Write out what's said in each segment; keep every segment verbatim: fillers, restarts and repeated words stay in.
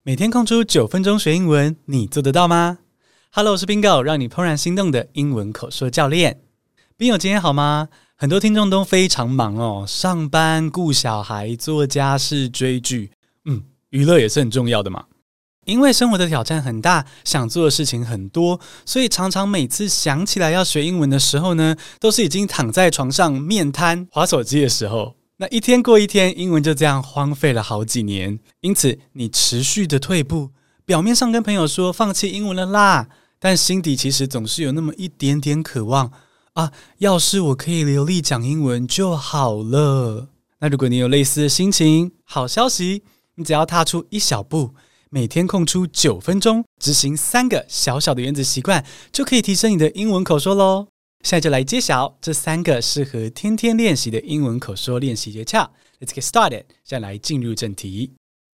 每天空出九分鐘學英文，你做得到嗎？ Hello， 我是 Bingo， 讓你怦然心動的英文口說教練。Bingo， 今天好嗎？很多聽眾都非常忙哦，上班、顧小孩、做家事、追劇，嗯，娛樂也是很重要的嘛。因為生活的挑戰很大，想做的事情很多，所以常常每次想起來要學英文的時候呢，都是已經躺在床上面癱滑手機的時候。那一天過一天，英文就這樣荒廢了好幾年。因此，你持續的退步，表面上跟朋友說放棄英文了啦，但心底其實總是有那麼一點點渴望啊，要是我可以流利講英文就好了。那如果你有類似的心情，好消息，你只要踏出一小步，每天空出九分鐘，執行三個小小的原子習慣，就可以提升你的英文口說咯。現在就來揭曉這三個適合天天練習的英文口說練習訣竅。Let's get started。現在來進入正題。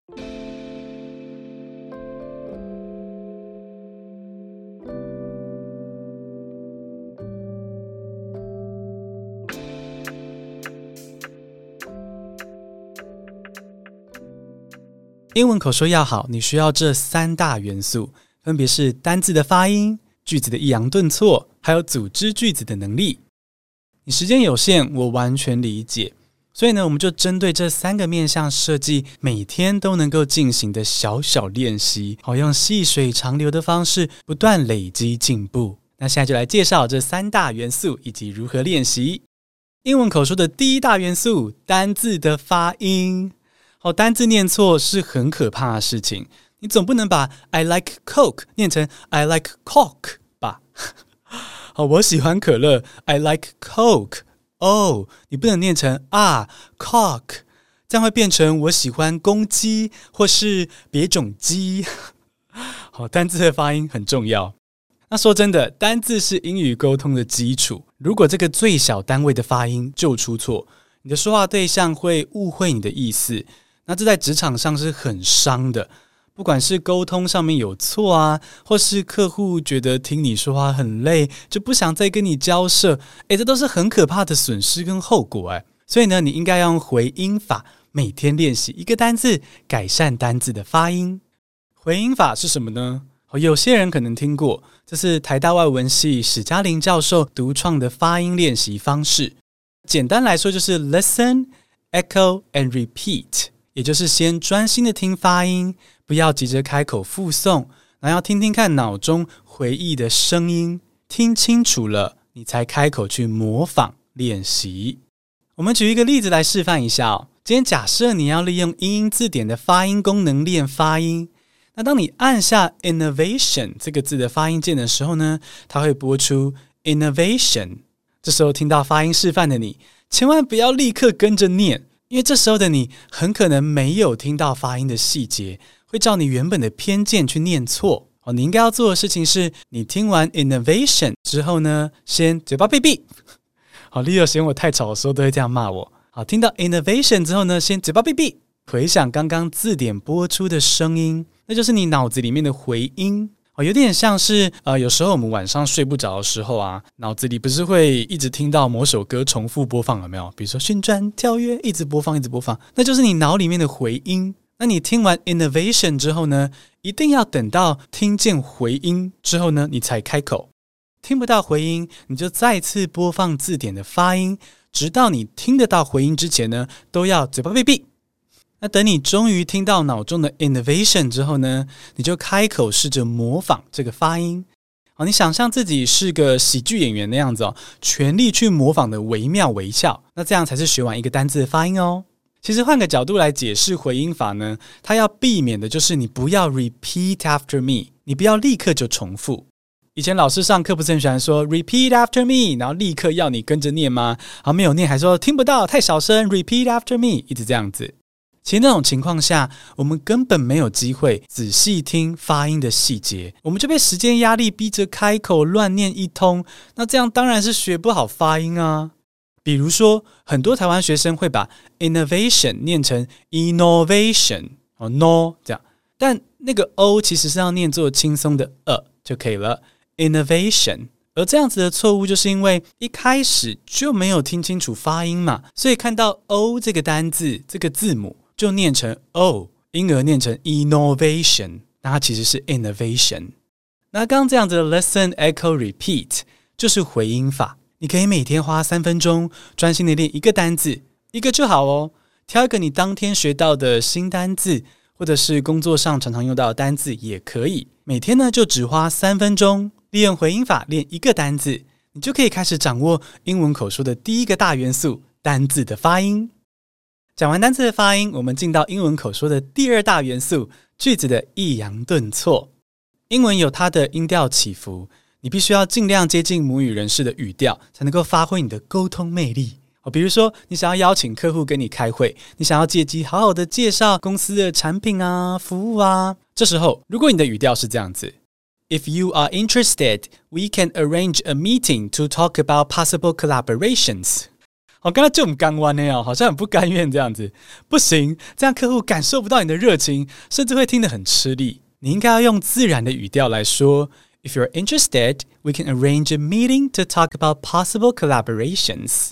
英文口說要好，你需要這三大元素，分別是單字的發音、句子的抑揚頓挫，還有組織句子的能力。你時間有限，我完全理解，所以呢，我們就針對這三個面向設計每天都能夠進行的小小練習，好用細水長流的方式不斷累積進步。那現在就來介紹這三大元素以及如何練習。英文口說的第一大元素，單字的發音。好，單字念錯是很可怕的事情。你總不能把 I like Coke 念成 I like Coke 吧？好，我喜歡可樂 I like Coke。哦，你不能念成啊 Coke， 這樣會變成我喜歡公雞或是別種雞。好，單字的發音很重要。那說真的，單字是英語溝通的基礎。如果這個最小單位的發音就出錯，你的說話對象會誤會你的意思，那這在職場上是很傷的。不管是溝通上面有錯啊，或是客戶覺得聽你說話很累，就不想再跟你交涉，誒，這都是很可怕的損失跟後果誒。所以呢，你應該要用回音法，每天練習一個單字，改善單字的發音。回音法是什麼呢？有些人可能聽過，這是台大外文系史嘉玲教授獨創的發音練習方式。簡單來說就是 listen, echo and repeat， 也就是先專心的聽發音，不要急着開口複誦，然後要聽聽看腦中回憶的聲音，聽清楚了，你才開口去模仿練習。我們舉一個例子來示範一下哦。今天假設你要利用英英字典的發音功能練發音，那當你按下 innovation 這個字的發音鍵的時候呢，它會播出 innovation。這時候聽到發音示範的你，千萬不要立刻跟着念，因為這時候的你很可能沒有聽到發音的細節，會照你原本的偏見去念錯。哦，你應該要做的事情是，你聽完 innovation 之後呢，先嘴巴閉閉。好，Leo嫌我太吵的時候都會這樣罵我。好，聽到 innovation 之後呢，先嘴巴閉閉，回想剛剛字典播出的聲音，那就是你腦子裡面的回音。哦，有點像是呃，有時候我們晚上睡不着的時候啊，腦子裡不是會一直聽到某首歌重複播放，有沒有？比如說旋轉跳躍，一直播放，一直播放，那就是你腦裡面的回音。那你聽完 innovation 之後呢，一定要等到聽見回音之後呢，你才開口。聽不到回音，你就再次播放字典的發音，直到你聽得到回音之前呢，都要嘴巴閉閉。那等你終於聽到腦中的 innovation 之後呢，你就開口試着模仿這個發音。好，你想象自己是個喜劇演員那樣子哦，全力去模仿的惟妙惟肖，那這樣才是學完一個單字的發音哦。其實換個角度來解釋回音法呢，它要避免的就是你不要 repeat after me， 你不要立刻就重複。以前老師上課不是很喜歡說 repeat after me， 然後立刻要你跟着念嗎？好，沒有念還說聽不到太小聲 repeat after me， 一直這樣子。其實那種情況下，我們根本沒有機會仔細聽發音的細節，我們就被時間壓力逼着開口亂念一通，那這樣當然是學不好發音啊。比如說，很多台灣學生會把 innovation 念成 innovation， 哦 no 這樣，但那個 o 其實是要念作輕鬆的呃就可以了 innovation。而這樣子的錯誤就是因為一開始就沒有聽清楚發音嘛，所以看到 o 這個單字這個字母就念成 o 英兒念成 innovation， 那它其實是 innovation。那剛剛這樣子的 listen echo repeat 就是回音法，你可以每天花三分鐘專心的練一個單字，一個就好哦。挑一個你當天學到的新單字，或者是工作上常常用到的單字也可以。每天呢就只花三分鐘，利用回音法練一個單字，你就可以開始掌握英文口說的第一個大元素——單字的發音。講完單字的發音，我們進到英文口說的第二大元素——句子的抑揚頓挫。英文有它的音調起伏，你必須要盡量接近母語人士的語調，才能夠發揮你的溝通魅力。比如說，你想要邀請客戶跟你開會，你想要借機好好的介紹公司的產品啊、服務啊。這時候，如果你的語調是這樣子 ：If you are interested, we can arrange a meeting to talk about possible collaborations。好，剛才就很剛彎呢，好像很不甘願這樣子。不行，這樣客戶感受不到你的熱情，甚至會聽得很吃力。你應該要用自然的語調來說 ：If you're interested, we can arrange a meeting to talk about possible collaborations。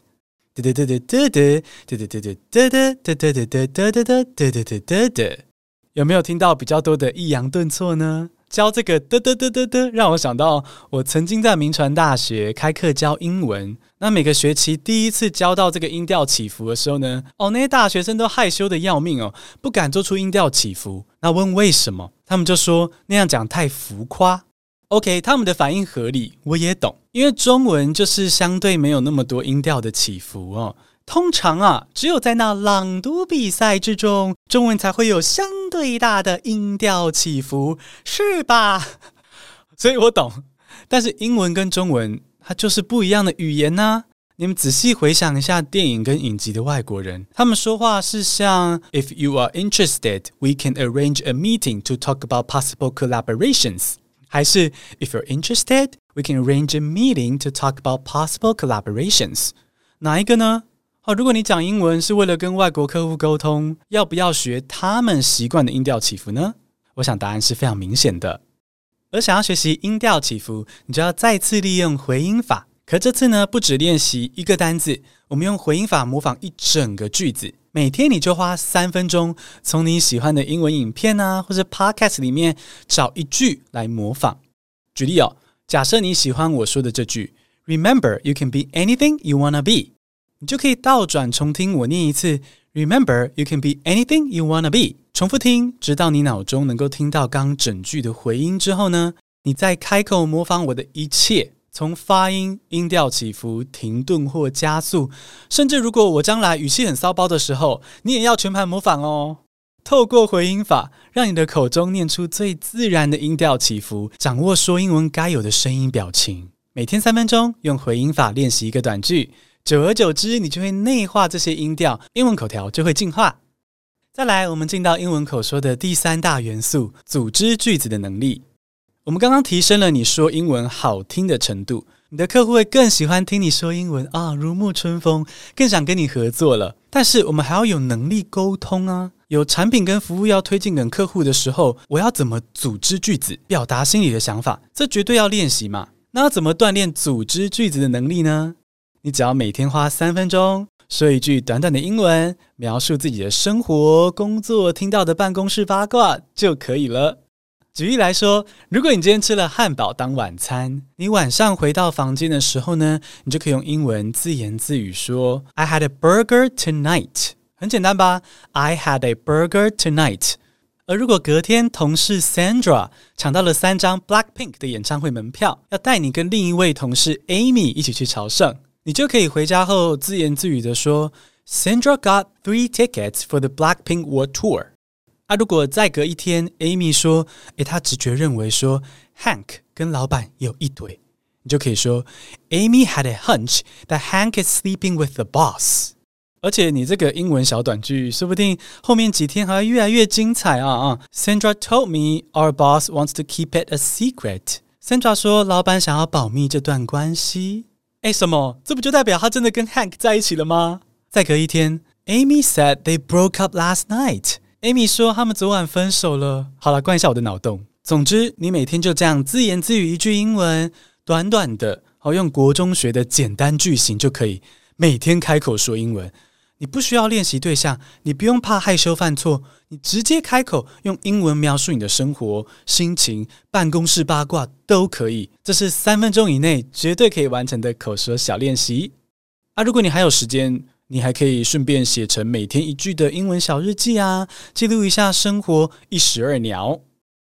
有沒有聽到比較多的抑揚頓挫呢？教這個的的的的的，讓我想到我曾經在銘傳大學開課教英文。那每個學期第一次教到這個音調起伏的時候呢，哦，那些大學生都害羞的要命哦，不敢做出音調起伏。那問為什麼？他們就說那樣講太浮誇。OK， 他們的反應合理，我也懂，因為中文就是相對沒有那麼多音調的起伏哦。通常啊，只有在那朗讀比賽之中，中文才會有相對大的音調起伏，是吧？所以我懂，但是英文跟中文它就是不一樣的語言啊。你們仔細回想一下電影跟影集的外國人，他們說話是像 If you are interested, we can arrange a meeting to talk about possible collaborations。還是 If you're interested, we can arrange a meeting to talk about possible collaborations。哪一個呢？哦，如果你講英文是為了跟外國客戶溝通，要不要學他們習慣的音調起伏呢？我想答案是非常明顯的。而想要學習音調起伏，你就要再次利用回音法。可這次呢，不只練習一個單字，我們用回音法模仿一整個句子。每天你就花三分鐘，從你喜歡的英文影片啊，或者 podcast 裡面找一句來模仿。舉例哦，假設你喜歡我說的這句 Remember, you can be anything you wanna be， 你就可以倒轉重聽我念一次 Remember, you can be anything you wanna be， 重複聽，直到你腦中能夠聽到剛整句的回音之後呢，你再開口模仿我的一切。從發音、音調起伏、停頓或加速，甚至如果我將來語氣很騷包的時候，你也要全盤模仿哦。透過回音法，讓你的口中念出最自然的音調起伏，掌握說英文該有的聲音表情。每天三分鐘，用回音法練習一個短句，久而久之，你就會內化這些音調，英文口條就會進化。再來，我們進到英文口說的第三大元素——組織句子的能力。我們剛剛提升了你說英文好聽的程度，你的客戶會更喜歡聽你說英文啊，如沐春風，更想跟你合作了。但是我們還要有能力溝通啊，有產品跟服務要推薦給客戶的時候，我要怎麼組織句子，表達心裡的想法？這絕對要練習嘛。那要怎麼鍛鍊組織句子的能力呢？你只要每天花三分鐘，說一句短短的英文，描述自己的生活、工作、聽到的辦公室八卦就可以了。舉例來說，如果你今天吃了漢堡當晚餐，你晚上回到房間的時候呢，你就可以用英文自言自語說 I had a burger tonight。 很簡單吧？ I had a burger tonight。 而如果隔天同事 Sandra 搶到了三張 Blackpink 的演唱會門票，要帶你跟另一位同事 Amy 一起去朝聖，你就可以回家後自言自語的說 Sandra got three tickets for the Blackpink World Tour。啊，如果再隔一天 Amy 說誒，她直覺認為說 Hank 跟老闆有一腿，你就可以說 Amy had a hunch that Hank is sleeping with the boss。 而且你這個英文小短句說不定後面幾天還會越來越精彩啊啊 Sandra told me our boss wants to keep it a secret。 Sandra 說老闆想要保密這段關係。誒，什麼？這不就代表他真的跟 Hank 在一起了嗎？再隔一天 Amy said they broke up last night。Amy 說他們昨晚分手了。好了，關一下我的腦洞。總之，你每天就這樣自言自語一句英文，短短的，好用國中學的簡單句型就可以每天開口說英文。 你不需要練習對象，你不用怕害羞犯錯，你直接開口用英文描述你的生活、心情、辦公室八卦都可以。這是三分鐘以內絕對可以完成的口說小練習。啊，如果你還有時間，你還可以順便寫成每天一句的英文小日記啊，記錄一下生活一石二鳥。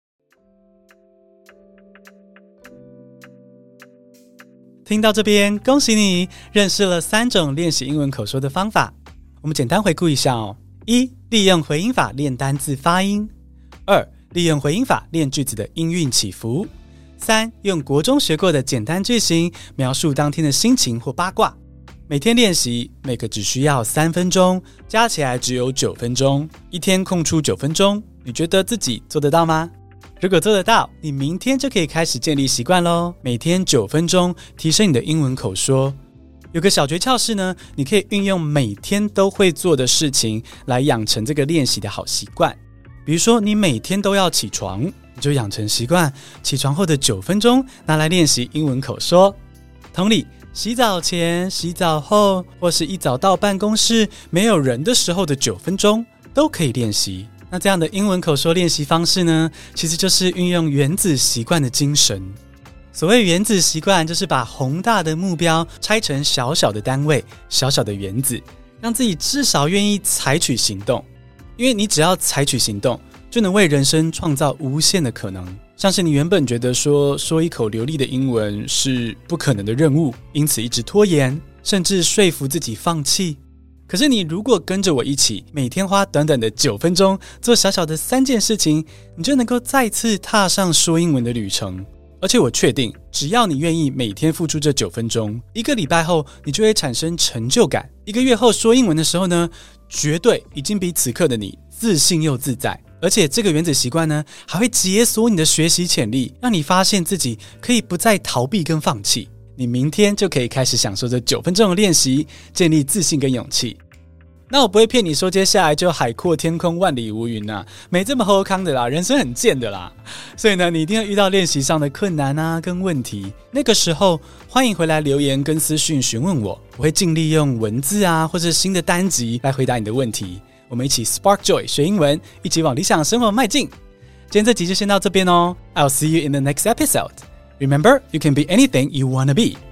聽到這邊，恭喜你認識了三種練習英文口說的方法。我們簡單回顧一下哦：一、利用回音法練單字發音；二、利用回音法練句子的音韻起伏；三、用國中學過的簡單句型描述當天的心情或八卦。每天練習，每個只需要三分鐘，加起來只有九分鐘。一天空出九分鐘，你覺得自己做得到嗎？如果做得到，你明天就可以開始建立習慣咯。每天九分鐘，提升你的英文口說。有個小訣竅是呢，你可以運用每天都會做的事情來養成這個練習的好習慣。比如說，你每天都要起床，你就養成習慣，起床後的九分鐘拿來練習英文口說。同理，洗澡前、洗澡後，或是一早到辦公室沒有人的時候的九分鐘，都可以練習。那這樣的英文口說練習方式呢，其實就是運用原子習慣的精神。所謂原子習慣，就是把宏大的目標拆成小小的單位、小小的原子，讓自己至少願意採取行動。因為你只要採取行動，就能為人生創造無限的可能。像是你原本覺得說說一口流利的英文是不可能的任務，因此一直拖延，甚至說服自己放棄。可是你如果跟着我一起，每天花短短的九分鐘做小小的三件事情，你就能夠再次踏上說英文的旅程。而且我確定，只要你願意每天付出這九分鐘，一個禮拜後你就會產生成就感。一個月後說英文的時候呢，絕對已經比此刻的你自信又自在。而且這個原子習慣呢，還會解鎖你的學習潛力，讓你發現自己可以不再逃避跟放棄。你明天就可以開始享受這九分鐘的練習，建立自信跟勇氣。那我不會騙你說接下來就海闊天空萬里無雲啊，沒這麼好康的啦，人生很賤的啦。所以呢，你一定會遇到練習上的困難啊跟問題。那個時候歡迎回來留言跟私訊詢問我，我會盡力用文字啊或是新的單集來回答你的問題。我們一起 Spark Joy 學英文，一起往理想生活邁進。今天這集就先到這邊哦，I'll see you in the next episode. Remember, you can be anything you want to be.